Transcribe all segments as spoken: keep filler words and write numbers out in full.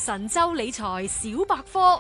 神州理財小百科。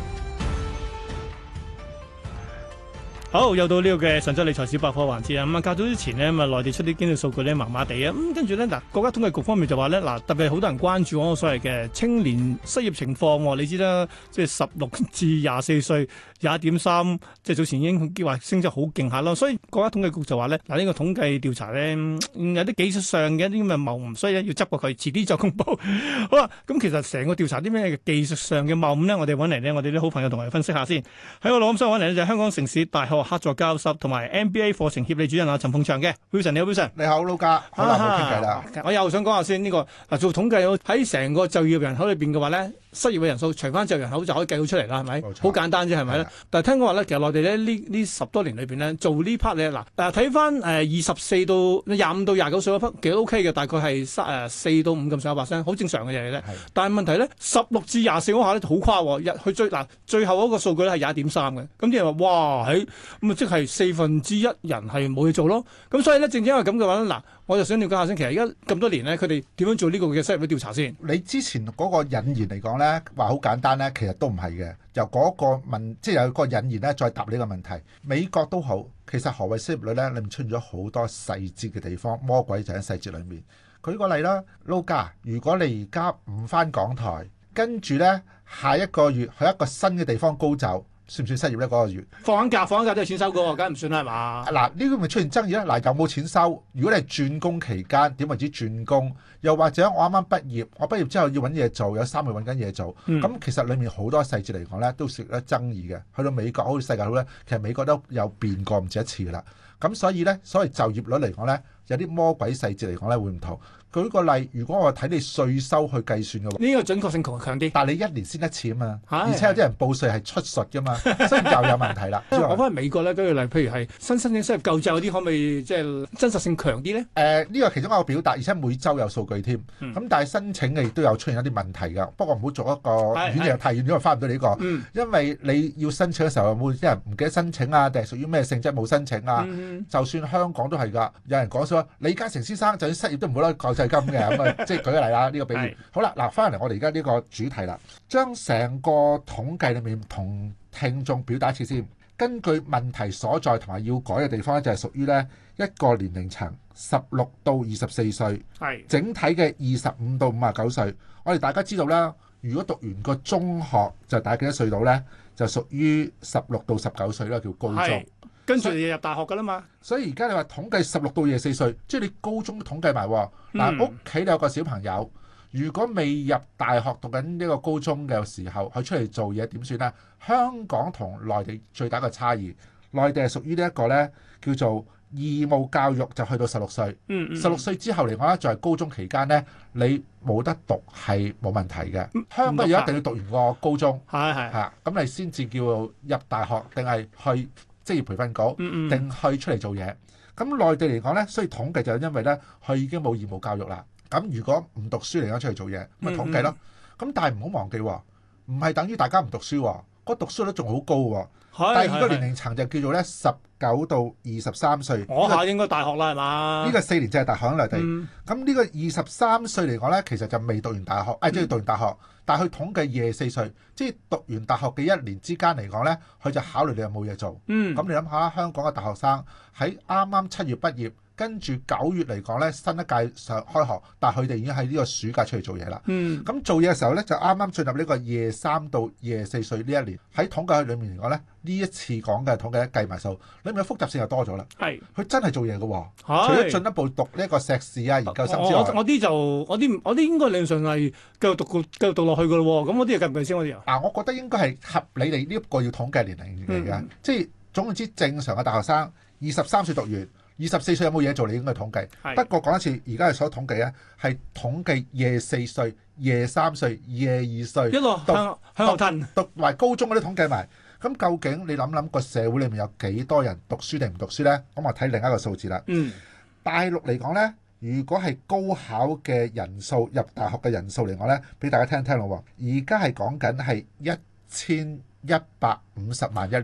好，又到呢個嘅神州理財小百科環節啊！咁啊，較早之前呢，咁啊，內地出啲經濟數據咧，麻麻地啊，咁跟住咧，嗱，國家統計局方面就話咧，嗱，特別係好多人關注嗰個所謂嘅青年失業情況喎。你知啦，即係十六至廿四歲，廿點三，即係早前已經話升得好勁下咯。所以國家統計局就話咧，嗱，呢個統計調查咧，有啲技術上嘅一啲咁嘅謬誤，所以咧要執過佢，遲啲再公佈。好啦，咁其實成個調查啲咩技術上嘅謬誤咧，我哋揾嚟呢，我哋啲好朋友同我哋分析下先。喺我腦咁想揾嚟呢，就係香港城市大學客座教授同埋 M B A 課程協理主任阿陳鳳翔嘅 Wilson， 你好 Wilson。 你好，盧家，好耐冇傾偈啦。 我又想講下先呢、這個嗱，做統計喺成個就業人口裏邊嘅話咧，失業嘅人數除翻就業人口就可以計到出嚟啦，係咪？好簡單啫，係咪咧？但係聽講話咧，其實內地咧呢呢十多年裏邊咧做呢 part 咧，嗱誒睇翻誒二十四到廿五到廿九歲嗰 part 其實 OK 嘅，大概係誒四到五咁上下 percent，好正常嘅嘢咧。但係問題咧，十六至廿四嗰下咧好誇喎，日去追嗱最後嗰個數據咧係廿一點三嘅，咁啲人話哇喺咁啊，即係四分之一人係冇嘢做咯。咁所以咧，正正因為咁嘅話咧，嗱，我就想了解下先，其實而家咁多年咧，佢哋點樣做呢個嘅失業率調查先？ 你之前嗰個引言嚟講咧，話好簡單咧，其實都唔係嘅。由嗰個問，即係有個引言咧，再答呢個問題。美國都好，其實何謂失業率咧？裏面出現咗好多細節嘅地方，魔鬼就喺細節裏面。舉個例啦，撈家，如果你而家唔返港台，跟住咧下一個月去一個新嘅地方高走，算唔算失業咧？嗰、那個月放緊假，放緊假都係錢收嘅，梗係唔算啦，係嘛？ 嗱，呢個咪出現爭議啦。嗱，有冇錢收？如果你係轉工期間，點為之轉工？又或者我啱啱畢業，我畢業之後要揾嘢做，有三個月揾緊嘢做。咁、嗯、其實裡面好多細節嚟講咧，都涉得爭議嘅。去到美國好似世界好咧，其實美國都有變過唔止一次噶啦。咁所以咧，所謂就業率嚟講咧，有啲魔鬼細節嚟講咧會唔同。舉個例，如果我睇你稅收去計算嘅話， 呢個準確性強強啲。 但係你一年先一次啊嘛，而且有啲人報稅係出術噶嘛，所以又有問題啦。 我翻去美國咧，舉個例，譬如係新申請失業救濟嗰啲，可唔可以即係真實性強啲咧？誒、 呃，呢、這個其中一個表達，而且每週有數據添。咁、嗯、但係申請嘅亦都有出現一啲問題㗎。不過唔好做一個遠嘢太遠，因為翻唔到呢個。嗯、因為你要申請嘅時候，有冇啲人唔記得申請啊？定係屬於咩性質冇申請啊？嗯、就算香港都係㗎，有人講咗李嘉誠先生就算失業都唔好攞救濟金嘅咁啊。即係舉個例啦，呢、這個比喻好啦。嗱，翻嚟我哋而家呢個主題啦，將成個統計裏面同聽眾表達一次先。根據問題所在同埋要改嘅地方咧，就係屬於咧一個年齡層，十六到二十四歲，係整體嘅二十五到五十九歲。我哋大家知道啦，如果讀完個中學就大幾多歲到咧，就屬於十六到十九歲啦，叫高中。 跟住你入大學㗎啦嘛， 所以而家你話統計十六到二十四歲，即係你高中都統計埋喎。嗱，屋企你有個小朋友，如果未入大學讀緊呢個高中嘅時候，佢出嚟做嘢點算咧？香港同內地最大嘅差異，內地係屬於呢一個咧叫做義務教育，就去到十六歲。嗯嗯。十六歲之後嚟講咧，就係高中期間咧，你冇得讀係冇問題嘅。香港要一定要讀完個高中，係係嚇，咁你先至叫入大學定係去職業培訓局定去出嚟做嘢。咁內地嚟講咧，所以統計就係因為咧，佢已經冇義務教育啦。咁如果唔讀書嚟講出嚟做嘢，咪統計咯。咁但係唔好忘記，唔係等於大家唔讀書，個讀書率仲好高喎。第二個年齡層就叫做咧十九到二十三歲。 我下應該大學啦，係嘛？ 呢個四年制係大學喺內地。咁呢個二十三歲嚟講咧，其實就未讀完大學，誒即係讀完大學。但係佢統計二十四歲，即係讀完大學嘅一年之間嚟講咧，佢就考慮你有冇嘢做。咁、嗯、你諗下，香港嘅大學生喺啱啱七月畢業，跟住九月嚟講咧，新一屆上開學，但係佢哋已經喺呢個暑假出嚟做嘢啦。咁、嗯、做嘢嘅時候咧，就啱啱進入呢個廿三到廿四歲呢一年。喺統計裏面嚟講咧，呢一次講嘅統計計埋數，裏面嘅複雜性又多咗啦。係，佢真係做嘢嘅喎。除咗進一步讀呢一個碩士啊、研究生之外， 我啲就我啲我啲應該理論上係繼續讀繼續讀落去嘅咯。咁我啲計唔計先？我啲啊，我覺得應該係合理地呢一個要統計年齡嚟嘅、嗯，即係總言之，正常嘅大學生二十三歲讀完，二十四歲有冇嘢做？你應該統計。不過講一次，而家係所統計咧，係統計廿四歲、廿三歲、廿二歲一路向向後褪， 讀埋高中嗰啲統計埋。咁究竟你諗諗個社會裏面有幾多人讀書定唔讀書咧？咁我睇另一個數字啦。嗯，大陸嚟講咧，如果係高考嘅人數入大學嘅人數嚟講咧，俾大家聽聽咯。而家係講緊係一千一百五十萬一年。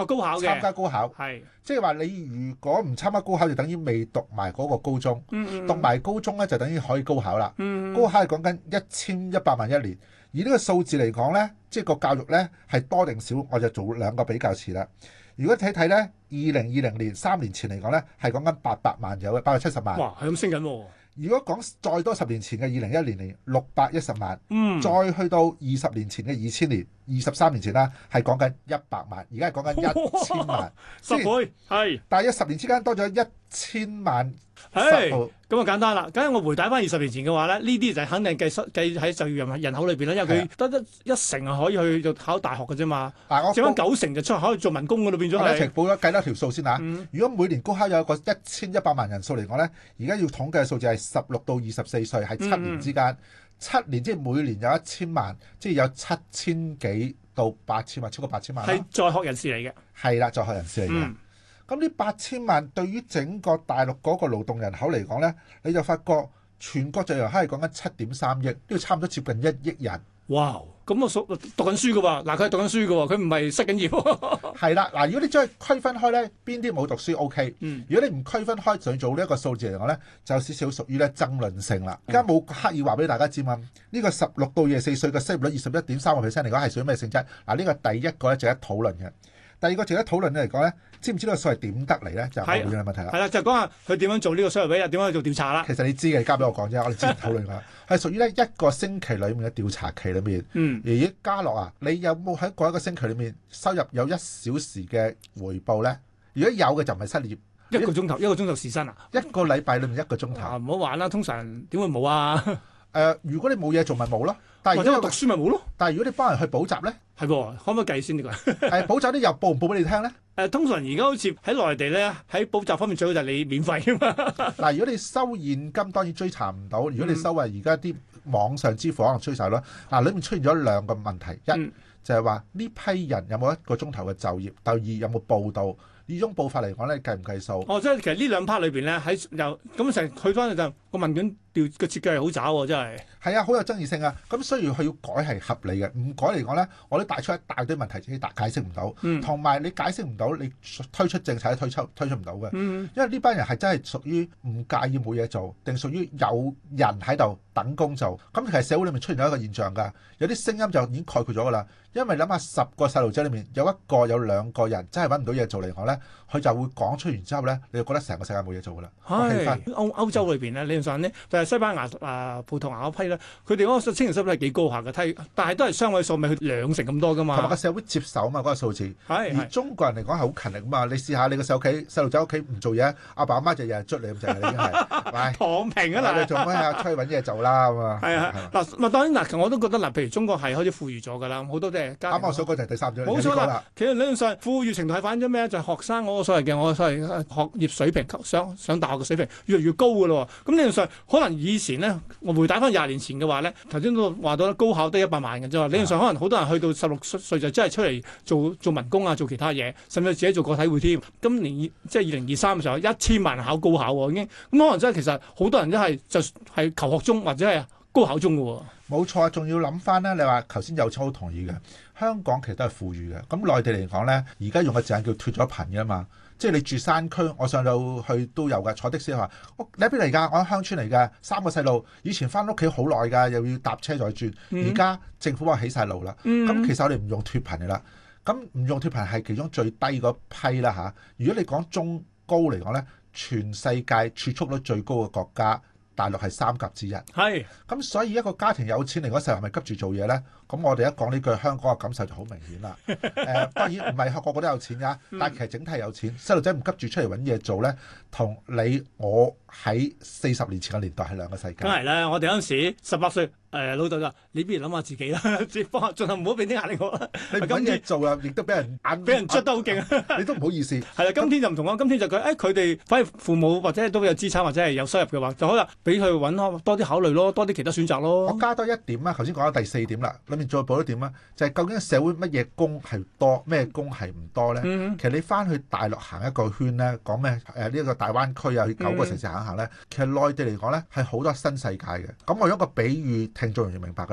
哦，高考嘅參加高考， 係即係話你如果唔參加高考，就等於未讀埋嗰個高中。 嗯嗯讀埋高中咧，就等於可以高考啦。 嗯高考係講緊一千一百萬一年，而呢個數字嚟講咧，即係個教育咧係多定少，我就做兩個比較詞啦。如果睇睇咧，二零二零年三年前嚟講咧，係講緊八百萬有嘅，八百七十萬。 哇，係咁升緊喎。 如果講再多十年前嘅二零一零年六百一十萬， 嗯， 再去到二十年前嘅二千年，二十三年前啦，係講緊一百萬，而家係講緊一千萬， 十倍係。 但係一十年之間多咗一千萬十係倍。 咁啊簡單啦，咁我回帶翻二十年前嘅話咧，呢啲就肯定計失計喺就業人人口裏邊啦，因為佢得一一成係可以去到考大學嘅啫嘛， 嗱，我剩翻九成就出可以做民工嗰度變咗我哋一齊係。 報咗計多條數先嚇。 嗯如果每年高考有一個一千一百萬人數嚟講咧，而家要統計嘅數字係十六到二十四歲，係七年之間。七年即係每年有一千萬，即係有七千幾到八千萬，超過八千萬啦。 係在學人士嚟嘅。 係啦，在學人士嚟嘅。 嗯咁呢八千萬對於整個大陸嗰個勞動人口嚟講咧，你就發覺全國就業人口係講緊七點三億，呢度差唔多接近一億人。 哇！咁我數讀緊書嘅喎，嗱佢係讀緊書嘅喎，佢唔係失緊業。 係啦，嗱，如果你將佢區分開咧，邊啲冇讀書 OK。 嗯如果你唔區分開，就做呢一個數字嚟講咧，就有少少屬於咧爭論性啦。而家冇刻意話俾大家知嘛，呢個十六到二十四歲嘅失業率二十一點三個 percent 嚟講係屬於咩性質？嗱，呢個第一個咧值得討論嘅。第二個值得討論嘅嚟講咧，知唔知呢個數係點得嚟咧？就係我會嘅問題啦。 係啦，就講下佢點樣做呢個 survey，點樣去做調查啦。 其實你知嘅，你交俾我講啫，我哋之前討論過，係屬於咧一個星期裡面嘅調查期裏面。 嗯。 而家嘉樂啊，你有冇喺嗰一個星期裏面收入有一小時嘅回報咧？如果有嘅就唔係失業。 一個鐘頭一個鐘頭時薪啊？ 一個禮拜裏面一個鐘頭。 啊，唔好玩啦！通常點會冇啊？ 誒、呃，如果你冇嘢做咪冇咯。但係或者我讀如果書咪冇咯？ 但係如果你幫人去補習咧， 係喎，可唔可以計先呢個？ 誒補習啲又報唔報俾你聽咧？ 誒，通常而家好似喺內地咧，喺補習方面最好就係你免費噶嘛。 嗱，如果你收現金當然追查唔到，如果你收啊而家啲網上支付可能追查咯。嗱，裏面出現咗兩個問題，一、 嗯、就係話呢批人有冇一個鐘頭嘅就業，第二有冇報到？呢種報法嚟講咧，計唔計數？ 哦，即係其實呢兩 part 裏邊咧，喺又咁成佢翻去就個問卷調個設計係好渣喎，真係。 係啊，好有爭議性啊！咁所以佢要改係合理嘅，唔改嚟講咧，我都帶出一大堆問題，自己解釋唔到。同埋、嗯、你解釋唔到，你推出政策都推出推出唔到嘅。 嗯、 因為呢班人係真係屬於唔介意冇嘢做，定屬於有人喺度等工做。咁其實社會裏面出現咗一個現象㗎，有啲聲音就已經概括咗㗎啦。因為諗下十個細路仔裏面有一個有兩個人真係揾唔到嘢做嚟講咧，佢就會講出完之後咧，你就覺得成個世界冇嘢做㗎啦。 係歐歐洲裏邊咧，理論上咧就係西班牙啊、葡萄牙嗰批咧，佢哋嗰個青年失業率係幾高下嘅，睇但係都係雙位數，咪去兩成咁多㗎嘛。同埋個社會接受啊嘛，嗰、嗰個數字。係而中國人嚟講係好勤力啊嘛，你試下你個細屋企細路仔屋企唔做嘢，阿爸阿媽就日日捽你咁滯，已經係躺平啊嗱！ 你做咩啊？出去揾嘢做啦咁啊！ 係啊，嗱，咪當然嗱，我都覺得嗱，譬如中國係開始富裕咗㗎啦，好多即係家。啱啱所講就係第三章。 冇錯啦，其實理論上富裕程度係反映咗咩？就係、是、學生嗰個所謂嘅我所謂學業水平，上上大學嘅水平越嚟越高㗎咯。咁理論上可能以前咧，我回帶翻廿年前嘅話咧，頭先都話到高考得一百萬嘅啫。理論上可能好多人去到十六歲就真係出嚟做做民工啊，做其他嘢，甚至自己做個體戶添。今年即係二零二三嘅時候，一千萬人考高考喎，已經咁可能真係其實好多人都係就係求學中或者係高考中嘅喎。 冇錯，仲要諗翻咧。你話頭先有超好同意嘅，香港其實都係富裕嘅。咁內地嚟講咧，而家用嘅字眼叫脫咗貧嘅嘛。即係你住山區，我上到去都有㗎。坐的士話：我你喺邊嚟㗎？我喺鄉村嚟㗎。三個細路，以前翻屋企好耐㗎，又要搭車再轉。而家、嗯、政府話起晒路啦。咁、嗯、其實我哋唔用脫貧㗎啦。咁唔用脫貧係其中最低嗰批啦嚇。如果你講中高嚟講咧，全世界儲蓄率最高嘅國家，大陸係三甲之一。係。咁所以一個家庭有錢嚟嗰時候係咪急住做嘢咧？咁我哋一講呢句，香港嘅感受就好明顯啦。誒、呃，當然唔係個個都有錢㗎，但係其實整體有錢。細路仔唔急住出嚟揾嘢做咧，同你我喺四十年前嘅年代係兩個世界。梗係啦，我哋嗰陣時十八歲，誒、呃、老豆就你不如諗下自己啦，即係幫下，盡量唔好俾啲壓力我啦。你揾嘢做啊，亦都俾人眼俾人捽得好勁，你都唔好意思。係啦，今天就唔同啦，今天就佢誒佢哋反而父母或者都有資產或者係有收入嘅話，就可能俾佢揾多啲考慮咯，多啲其他選擇咯。我加多一點啦，頭先講咗第四點啦。再補一點啦，就係、是、究竟社會乜嘢工係多，咩工係唔多咧？嗯、其實你翻去大陸行一個圈咧，講咩誒呢個大灣區啊，去九個城市行一行咧，嗯、其實內地嚟講咧係好多新世界嘅。咁我用一個比喻，聽眾容易明白噶啦。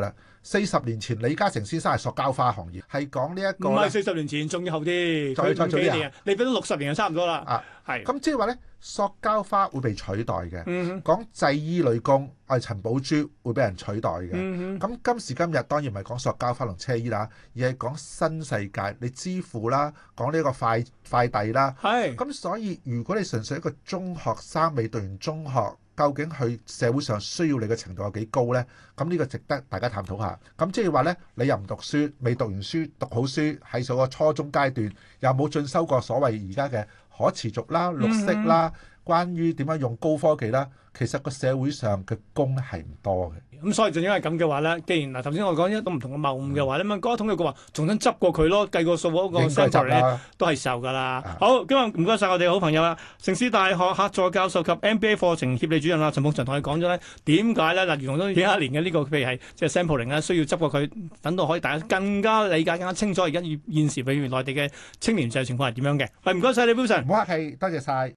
四十年前李嘉誠先生係塑膠花行業，係講呢一個咧唔係四十年前，仲要後啲，佢再再早啲啊五幾年啊，你俾到六十年就差唔多啦。 啊， 係咁即係話咧，塑膠花會被取代嘅。 嗯講製衣女工，我哋陳寶珠會俾人取代嘅。 嗯咁今時今日當然唔係講塑膠花同車衣啦，而係講新世界，你支付啦，講呢個快快遞啦。 係咁所以如果你純粹一個中學生未讀完中學，究竟佢社會上需要你嘅程度有幾高呢？咁呢個值得大家探討下。咁即係話呢，你又唔讀書，未讀完書，讀好書，喺咗個初中階段，又冇進修過所謂而家嘅可持續啦、綠色啦，關於點樣用高科技啦，其實個社會上嘅工咧係唔多嘅。 咁所以正因為咁嘅話咧，既然嗱頭先我講一種唔同嘅謬誤嘅話咧，咁嗰個統計局話重新執過佢咯，計個數嗰個應該 sample 咧執啦。 都係受㗎啦。 啊好，今日唔該晒我哋好朋友啊，城市大學客座教授及 M B A 課程協理主任啦，陳鳳翔同你講咗咧點解咧嗱，用咗幾十年嘅呢個譬如係即係 sampling 咧，需要執過佢，等到可以大家更加理解、更加清楚而家現時譬如內地嘅青年就業情況係點樣嘅。係唔該晒你 Wilson。 唔好客氣，多謝晒。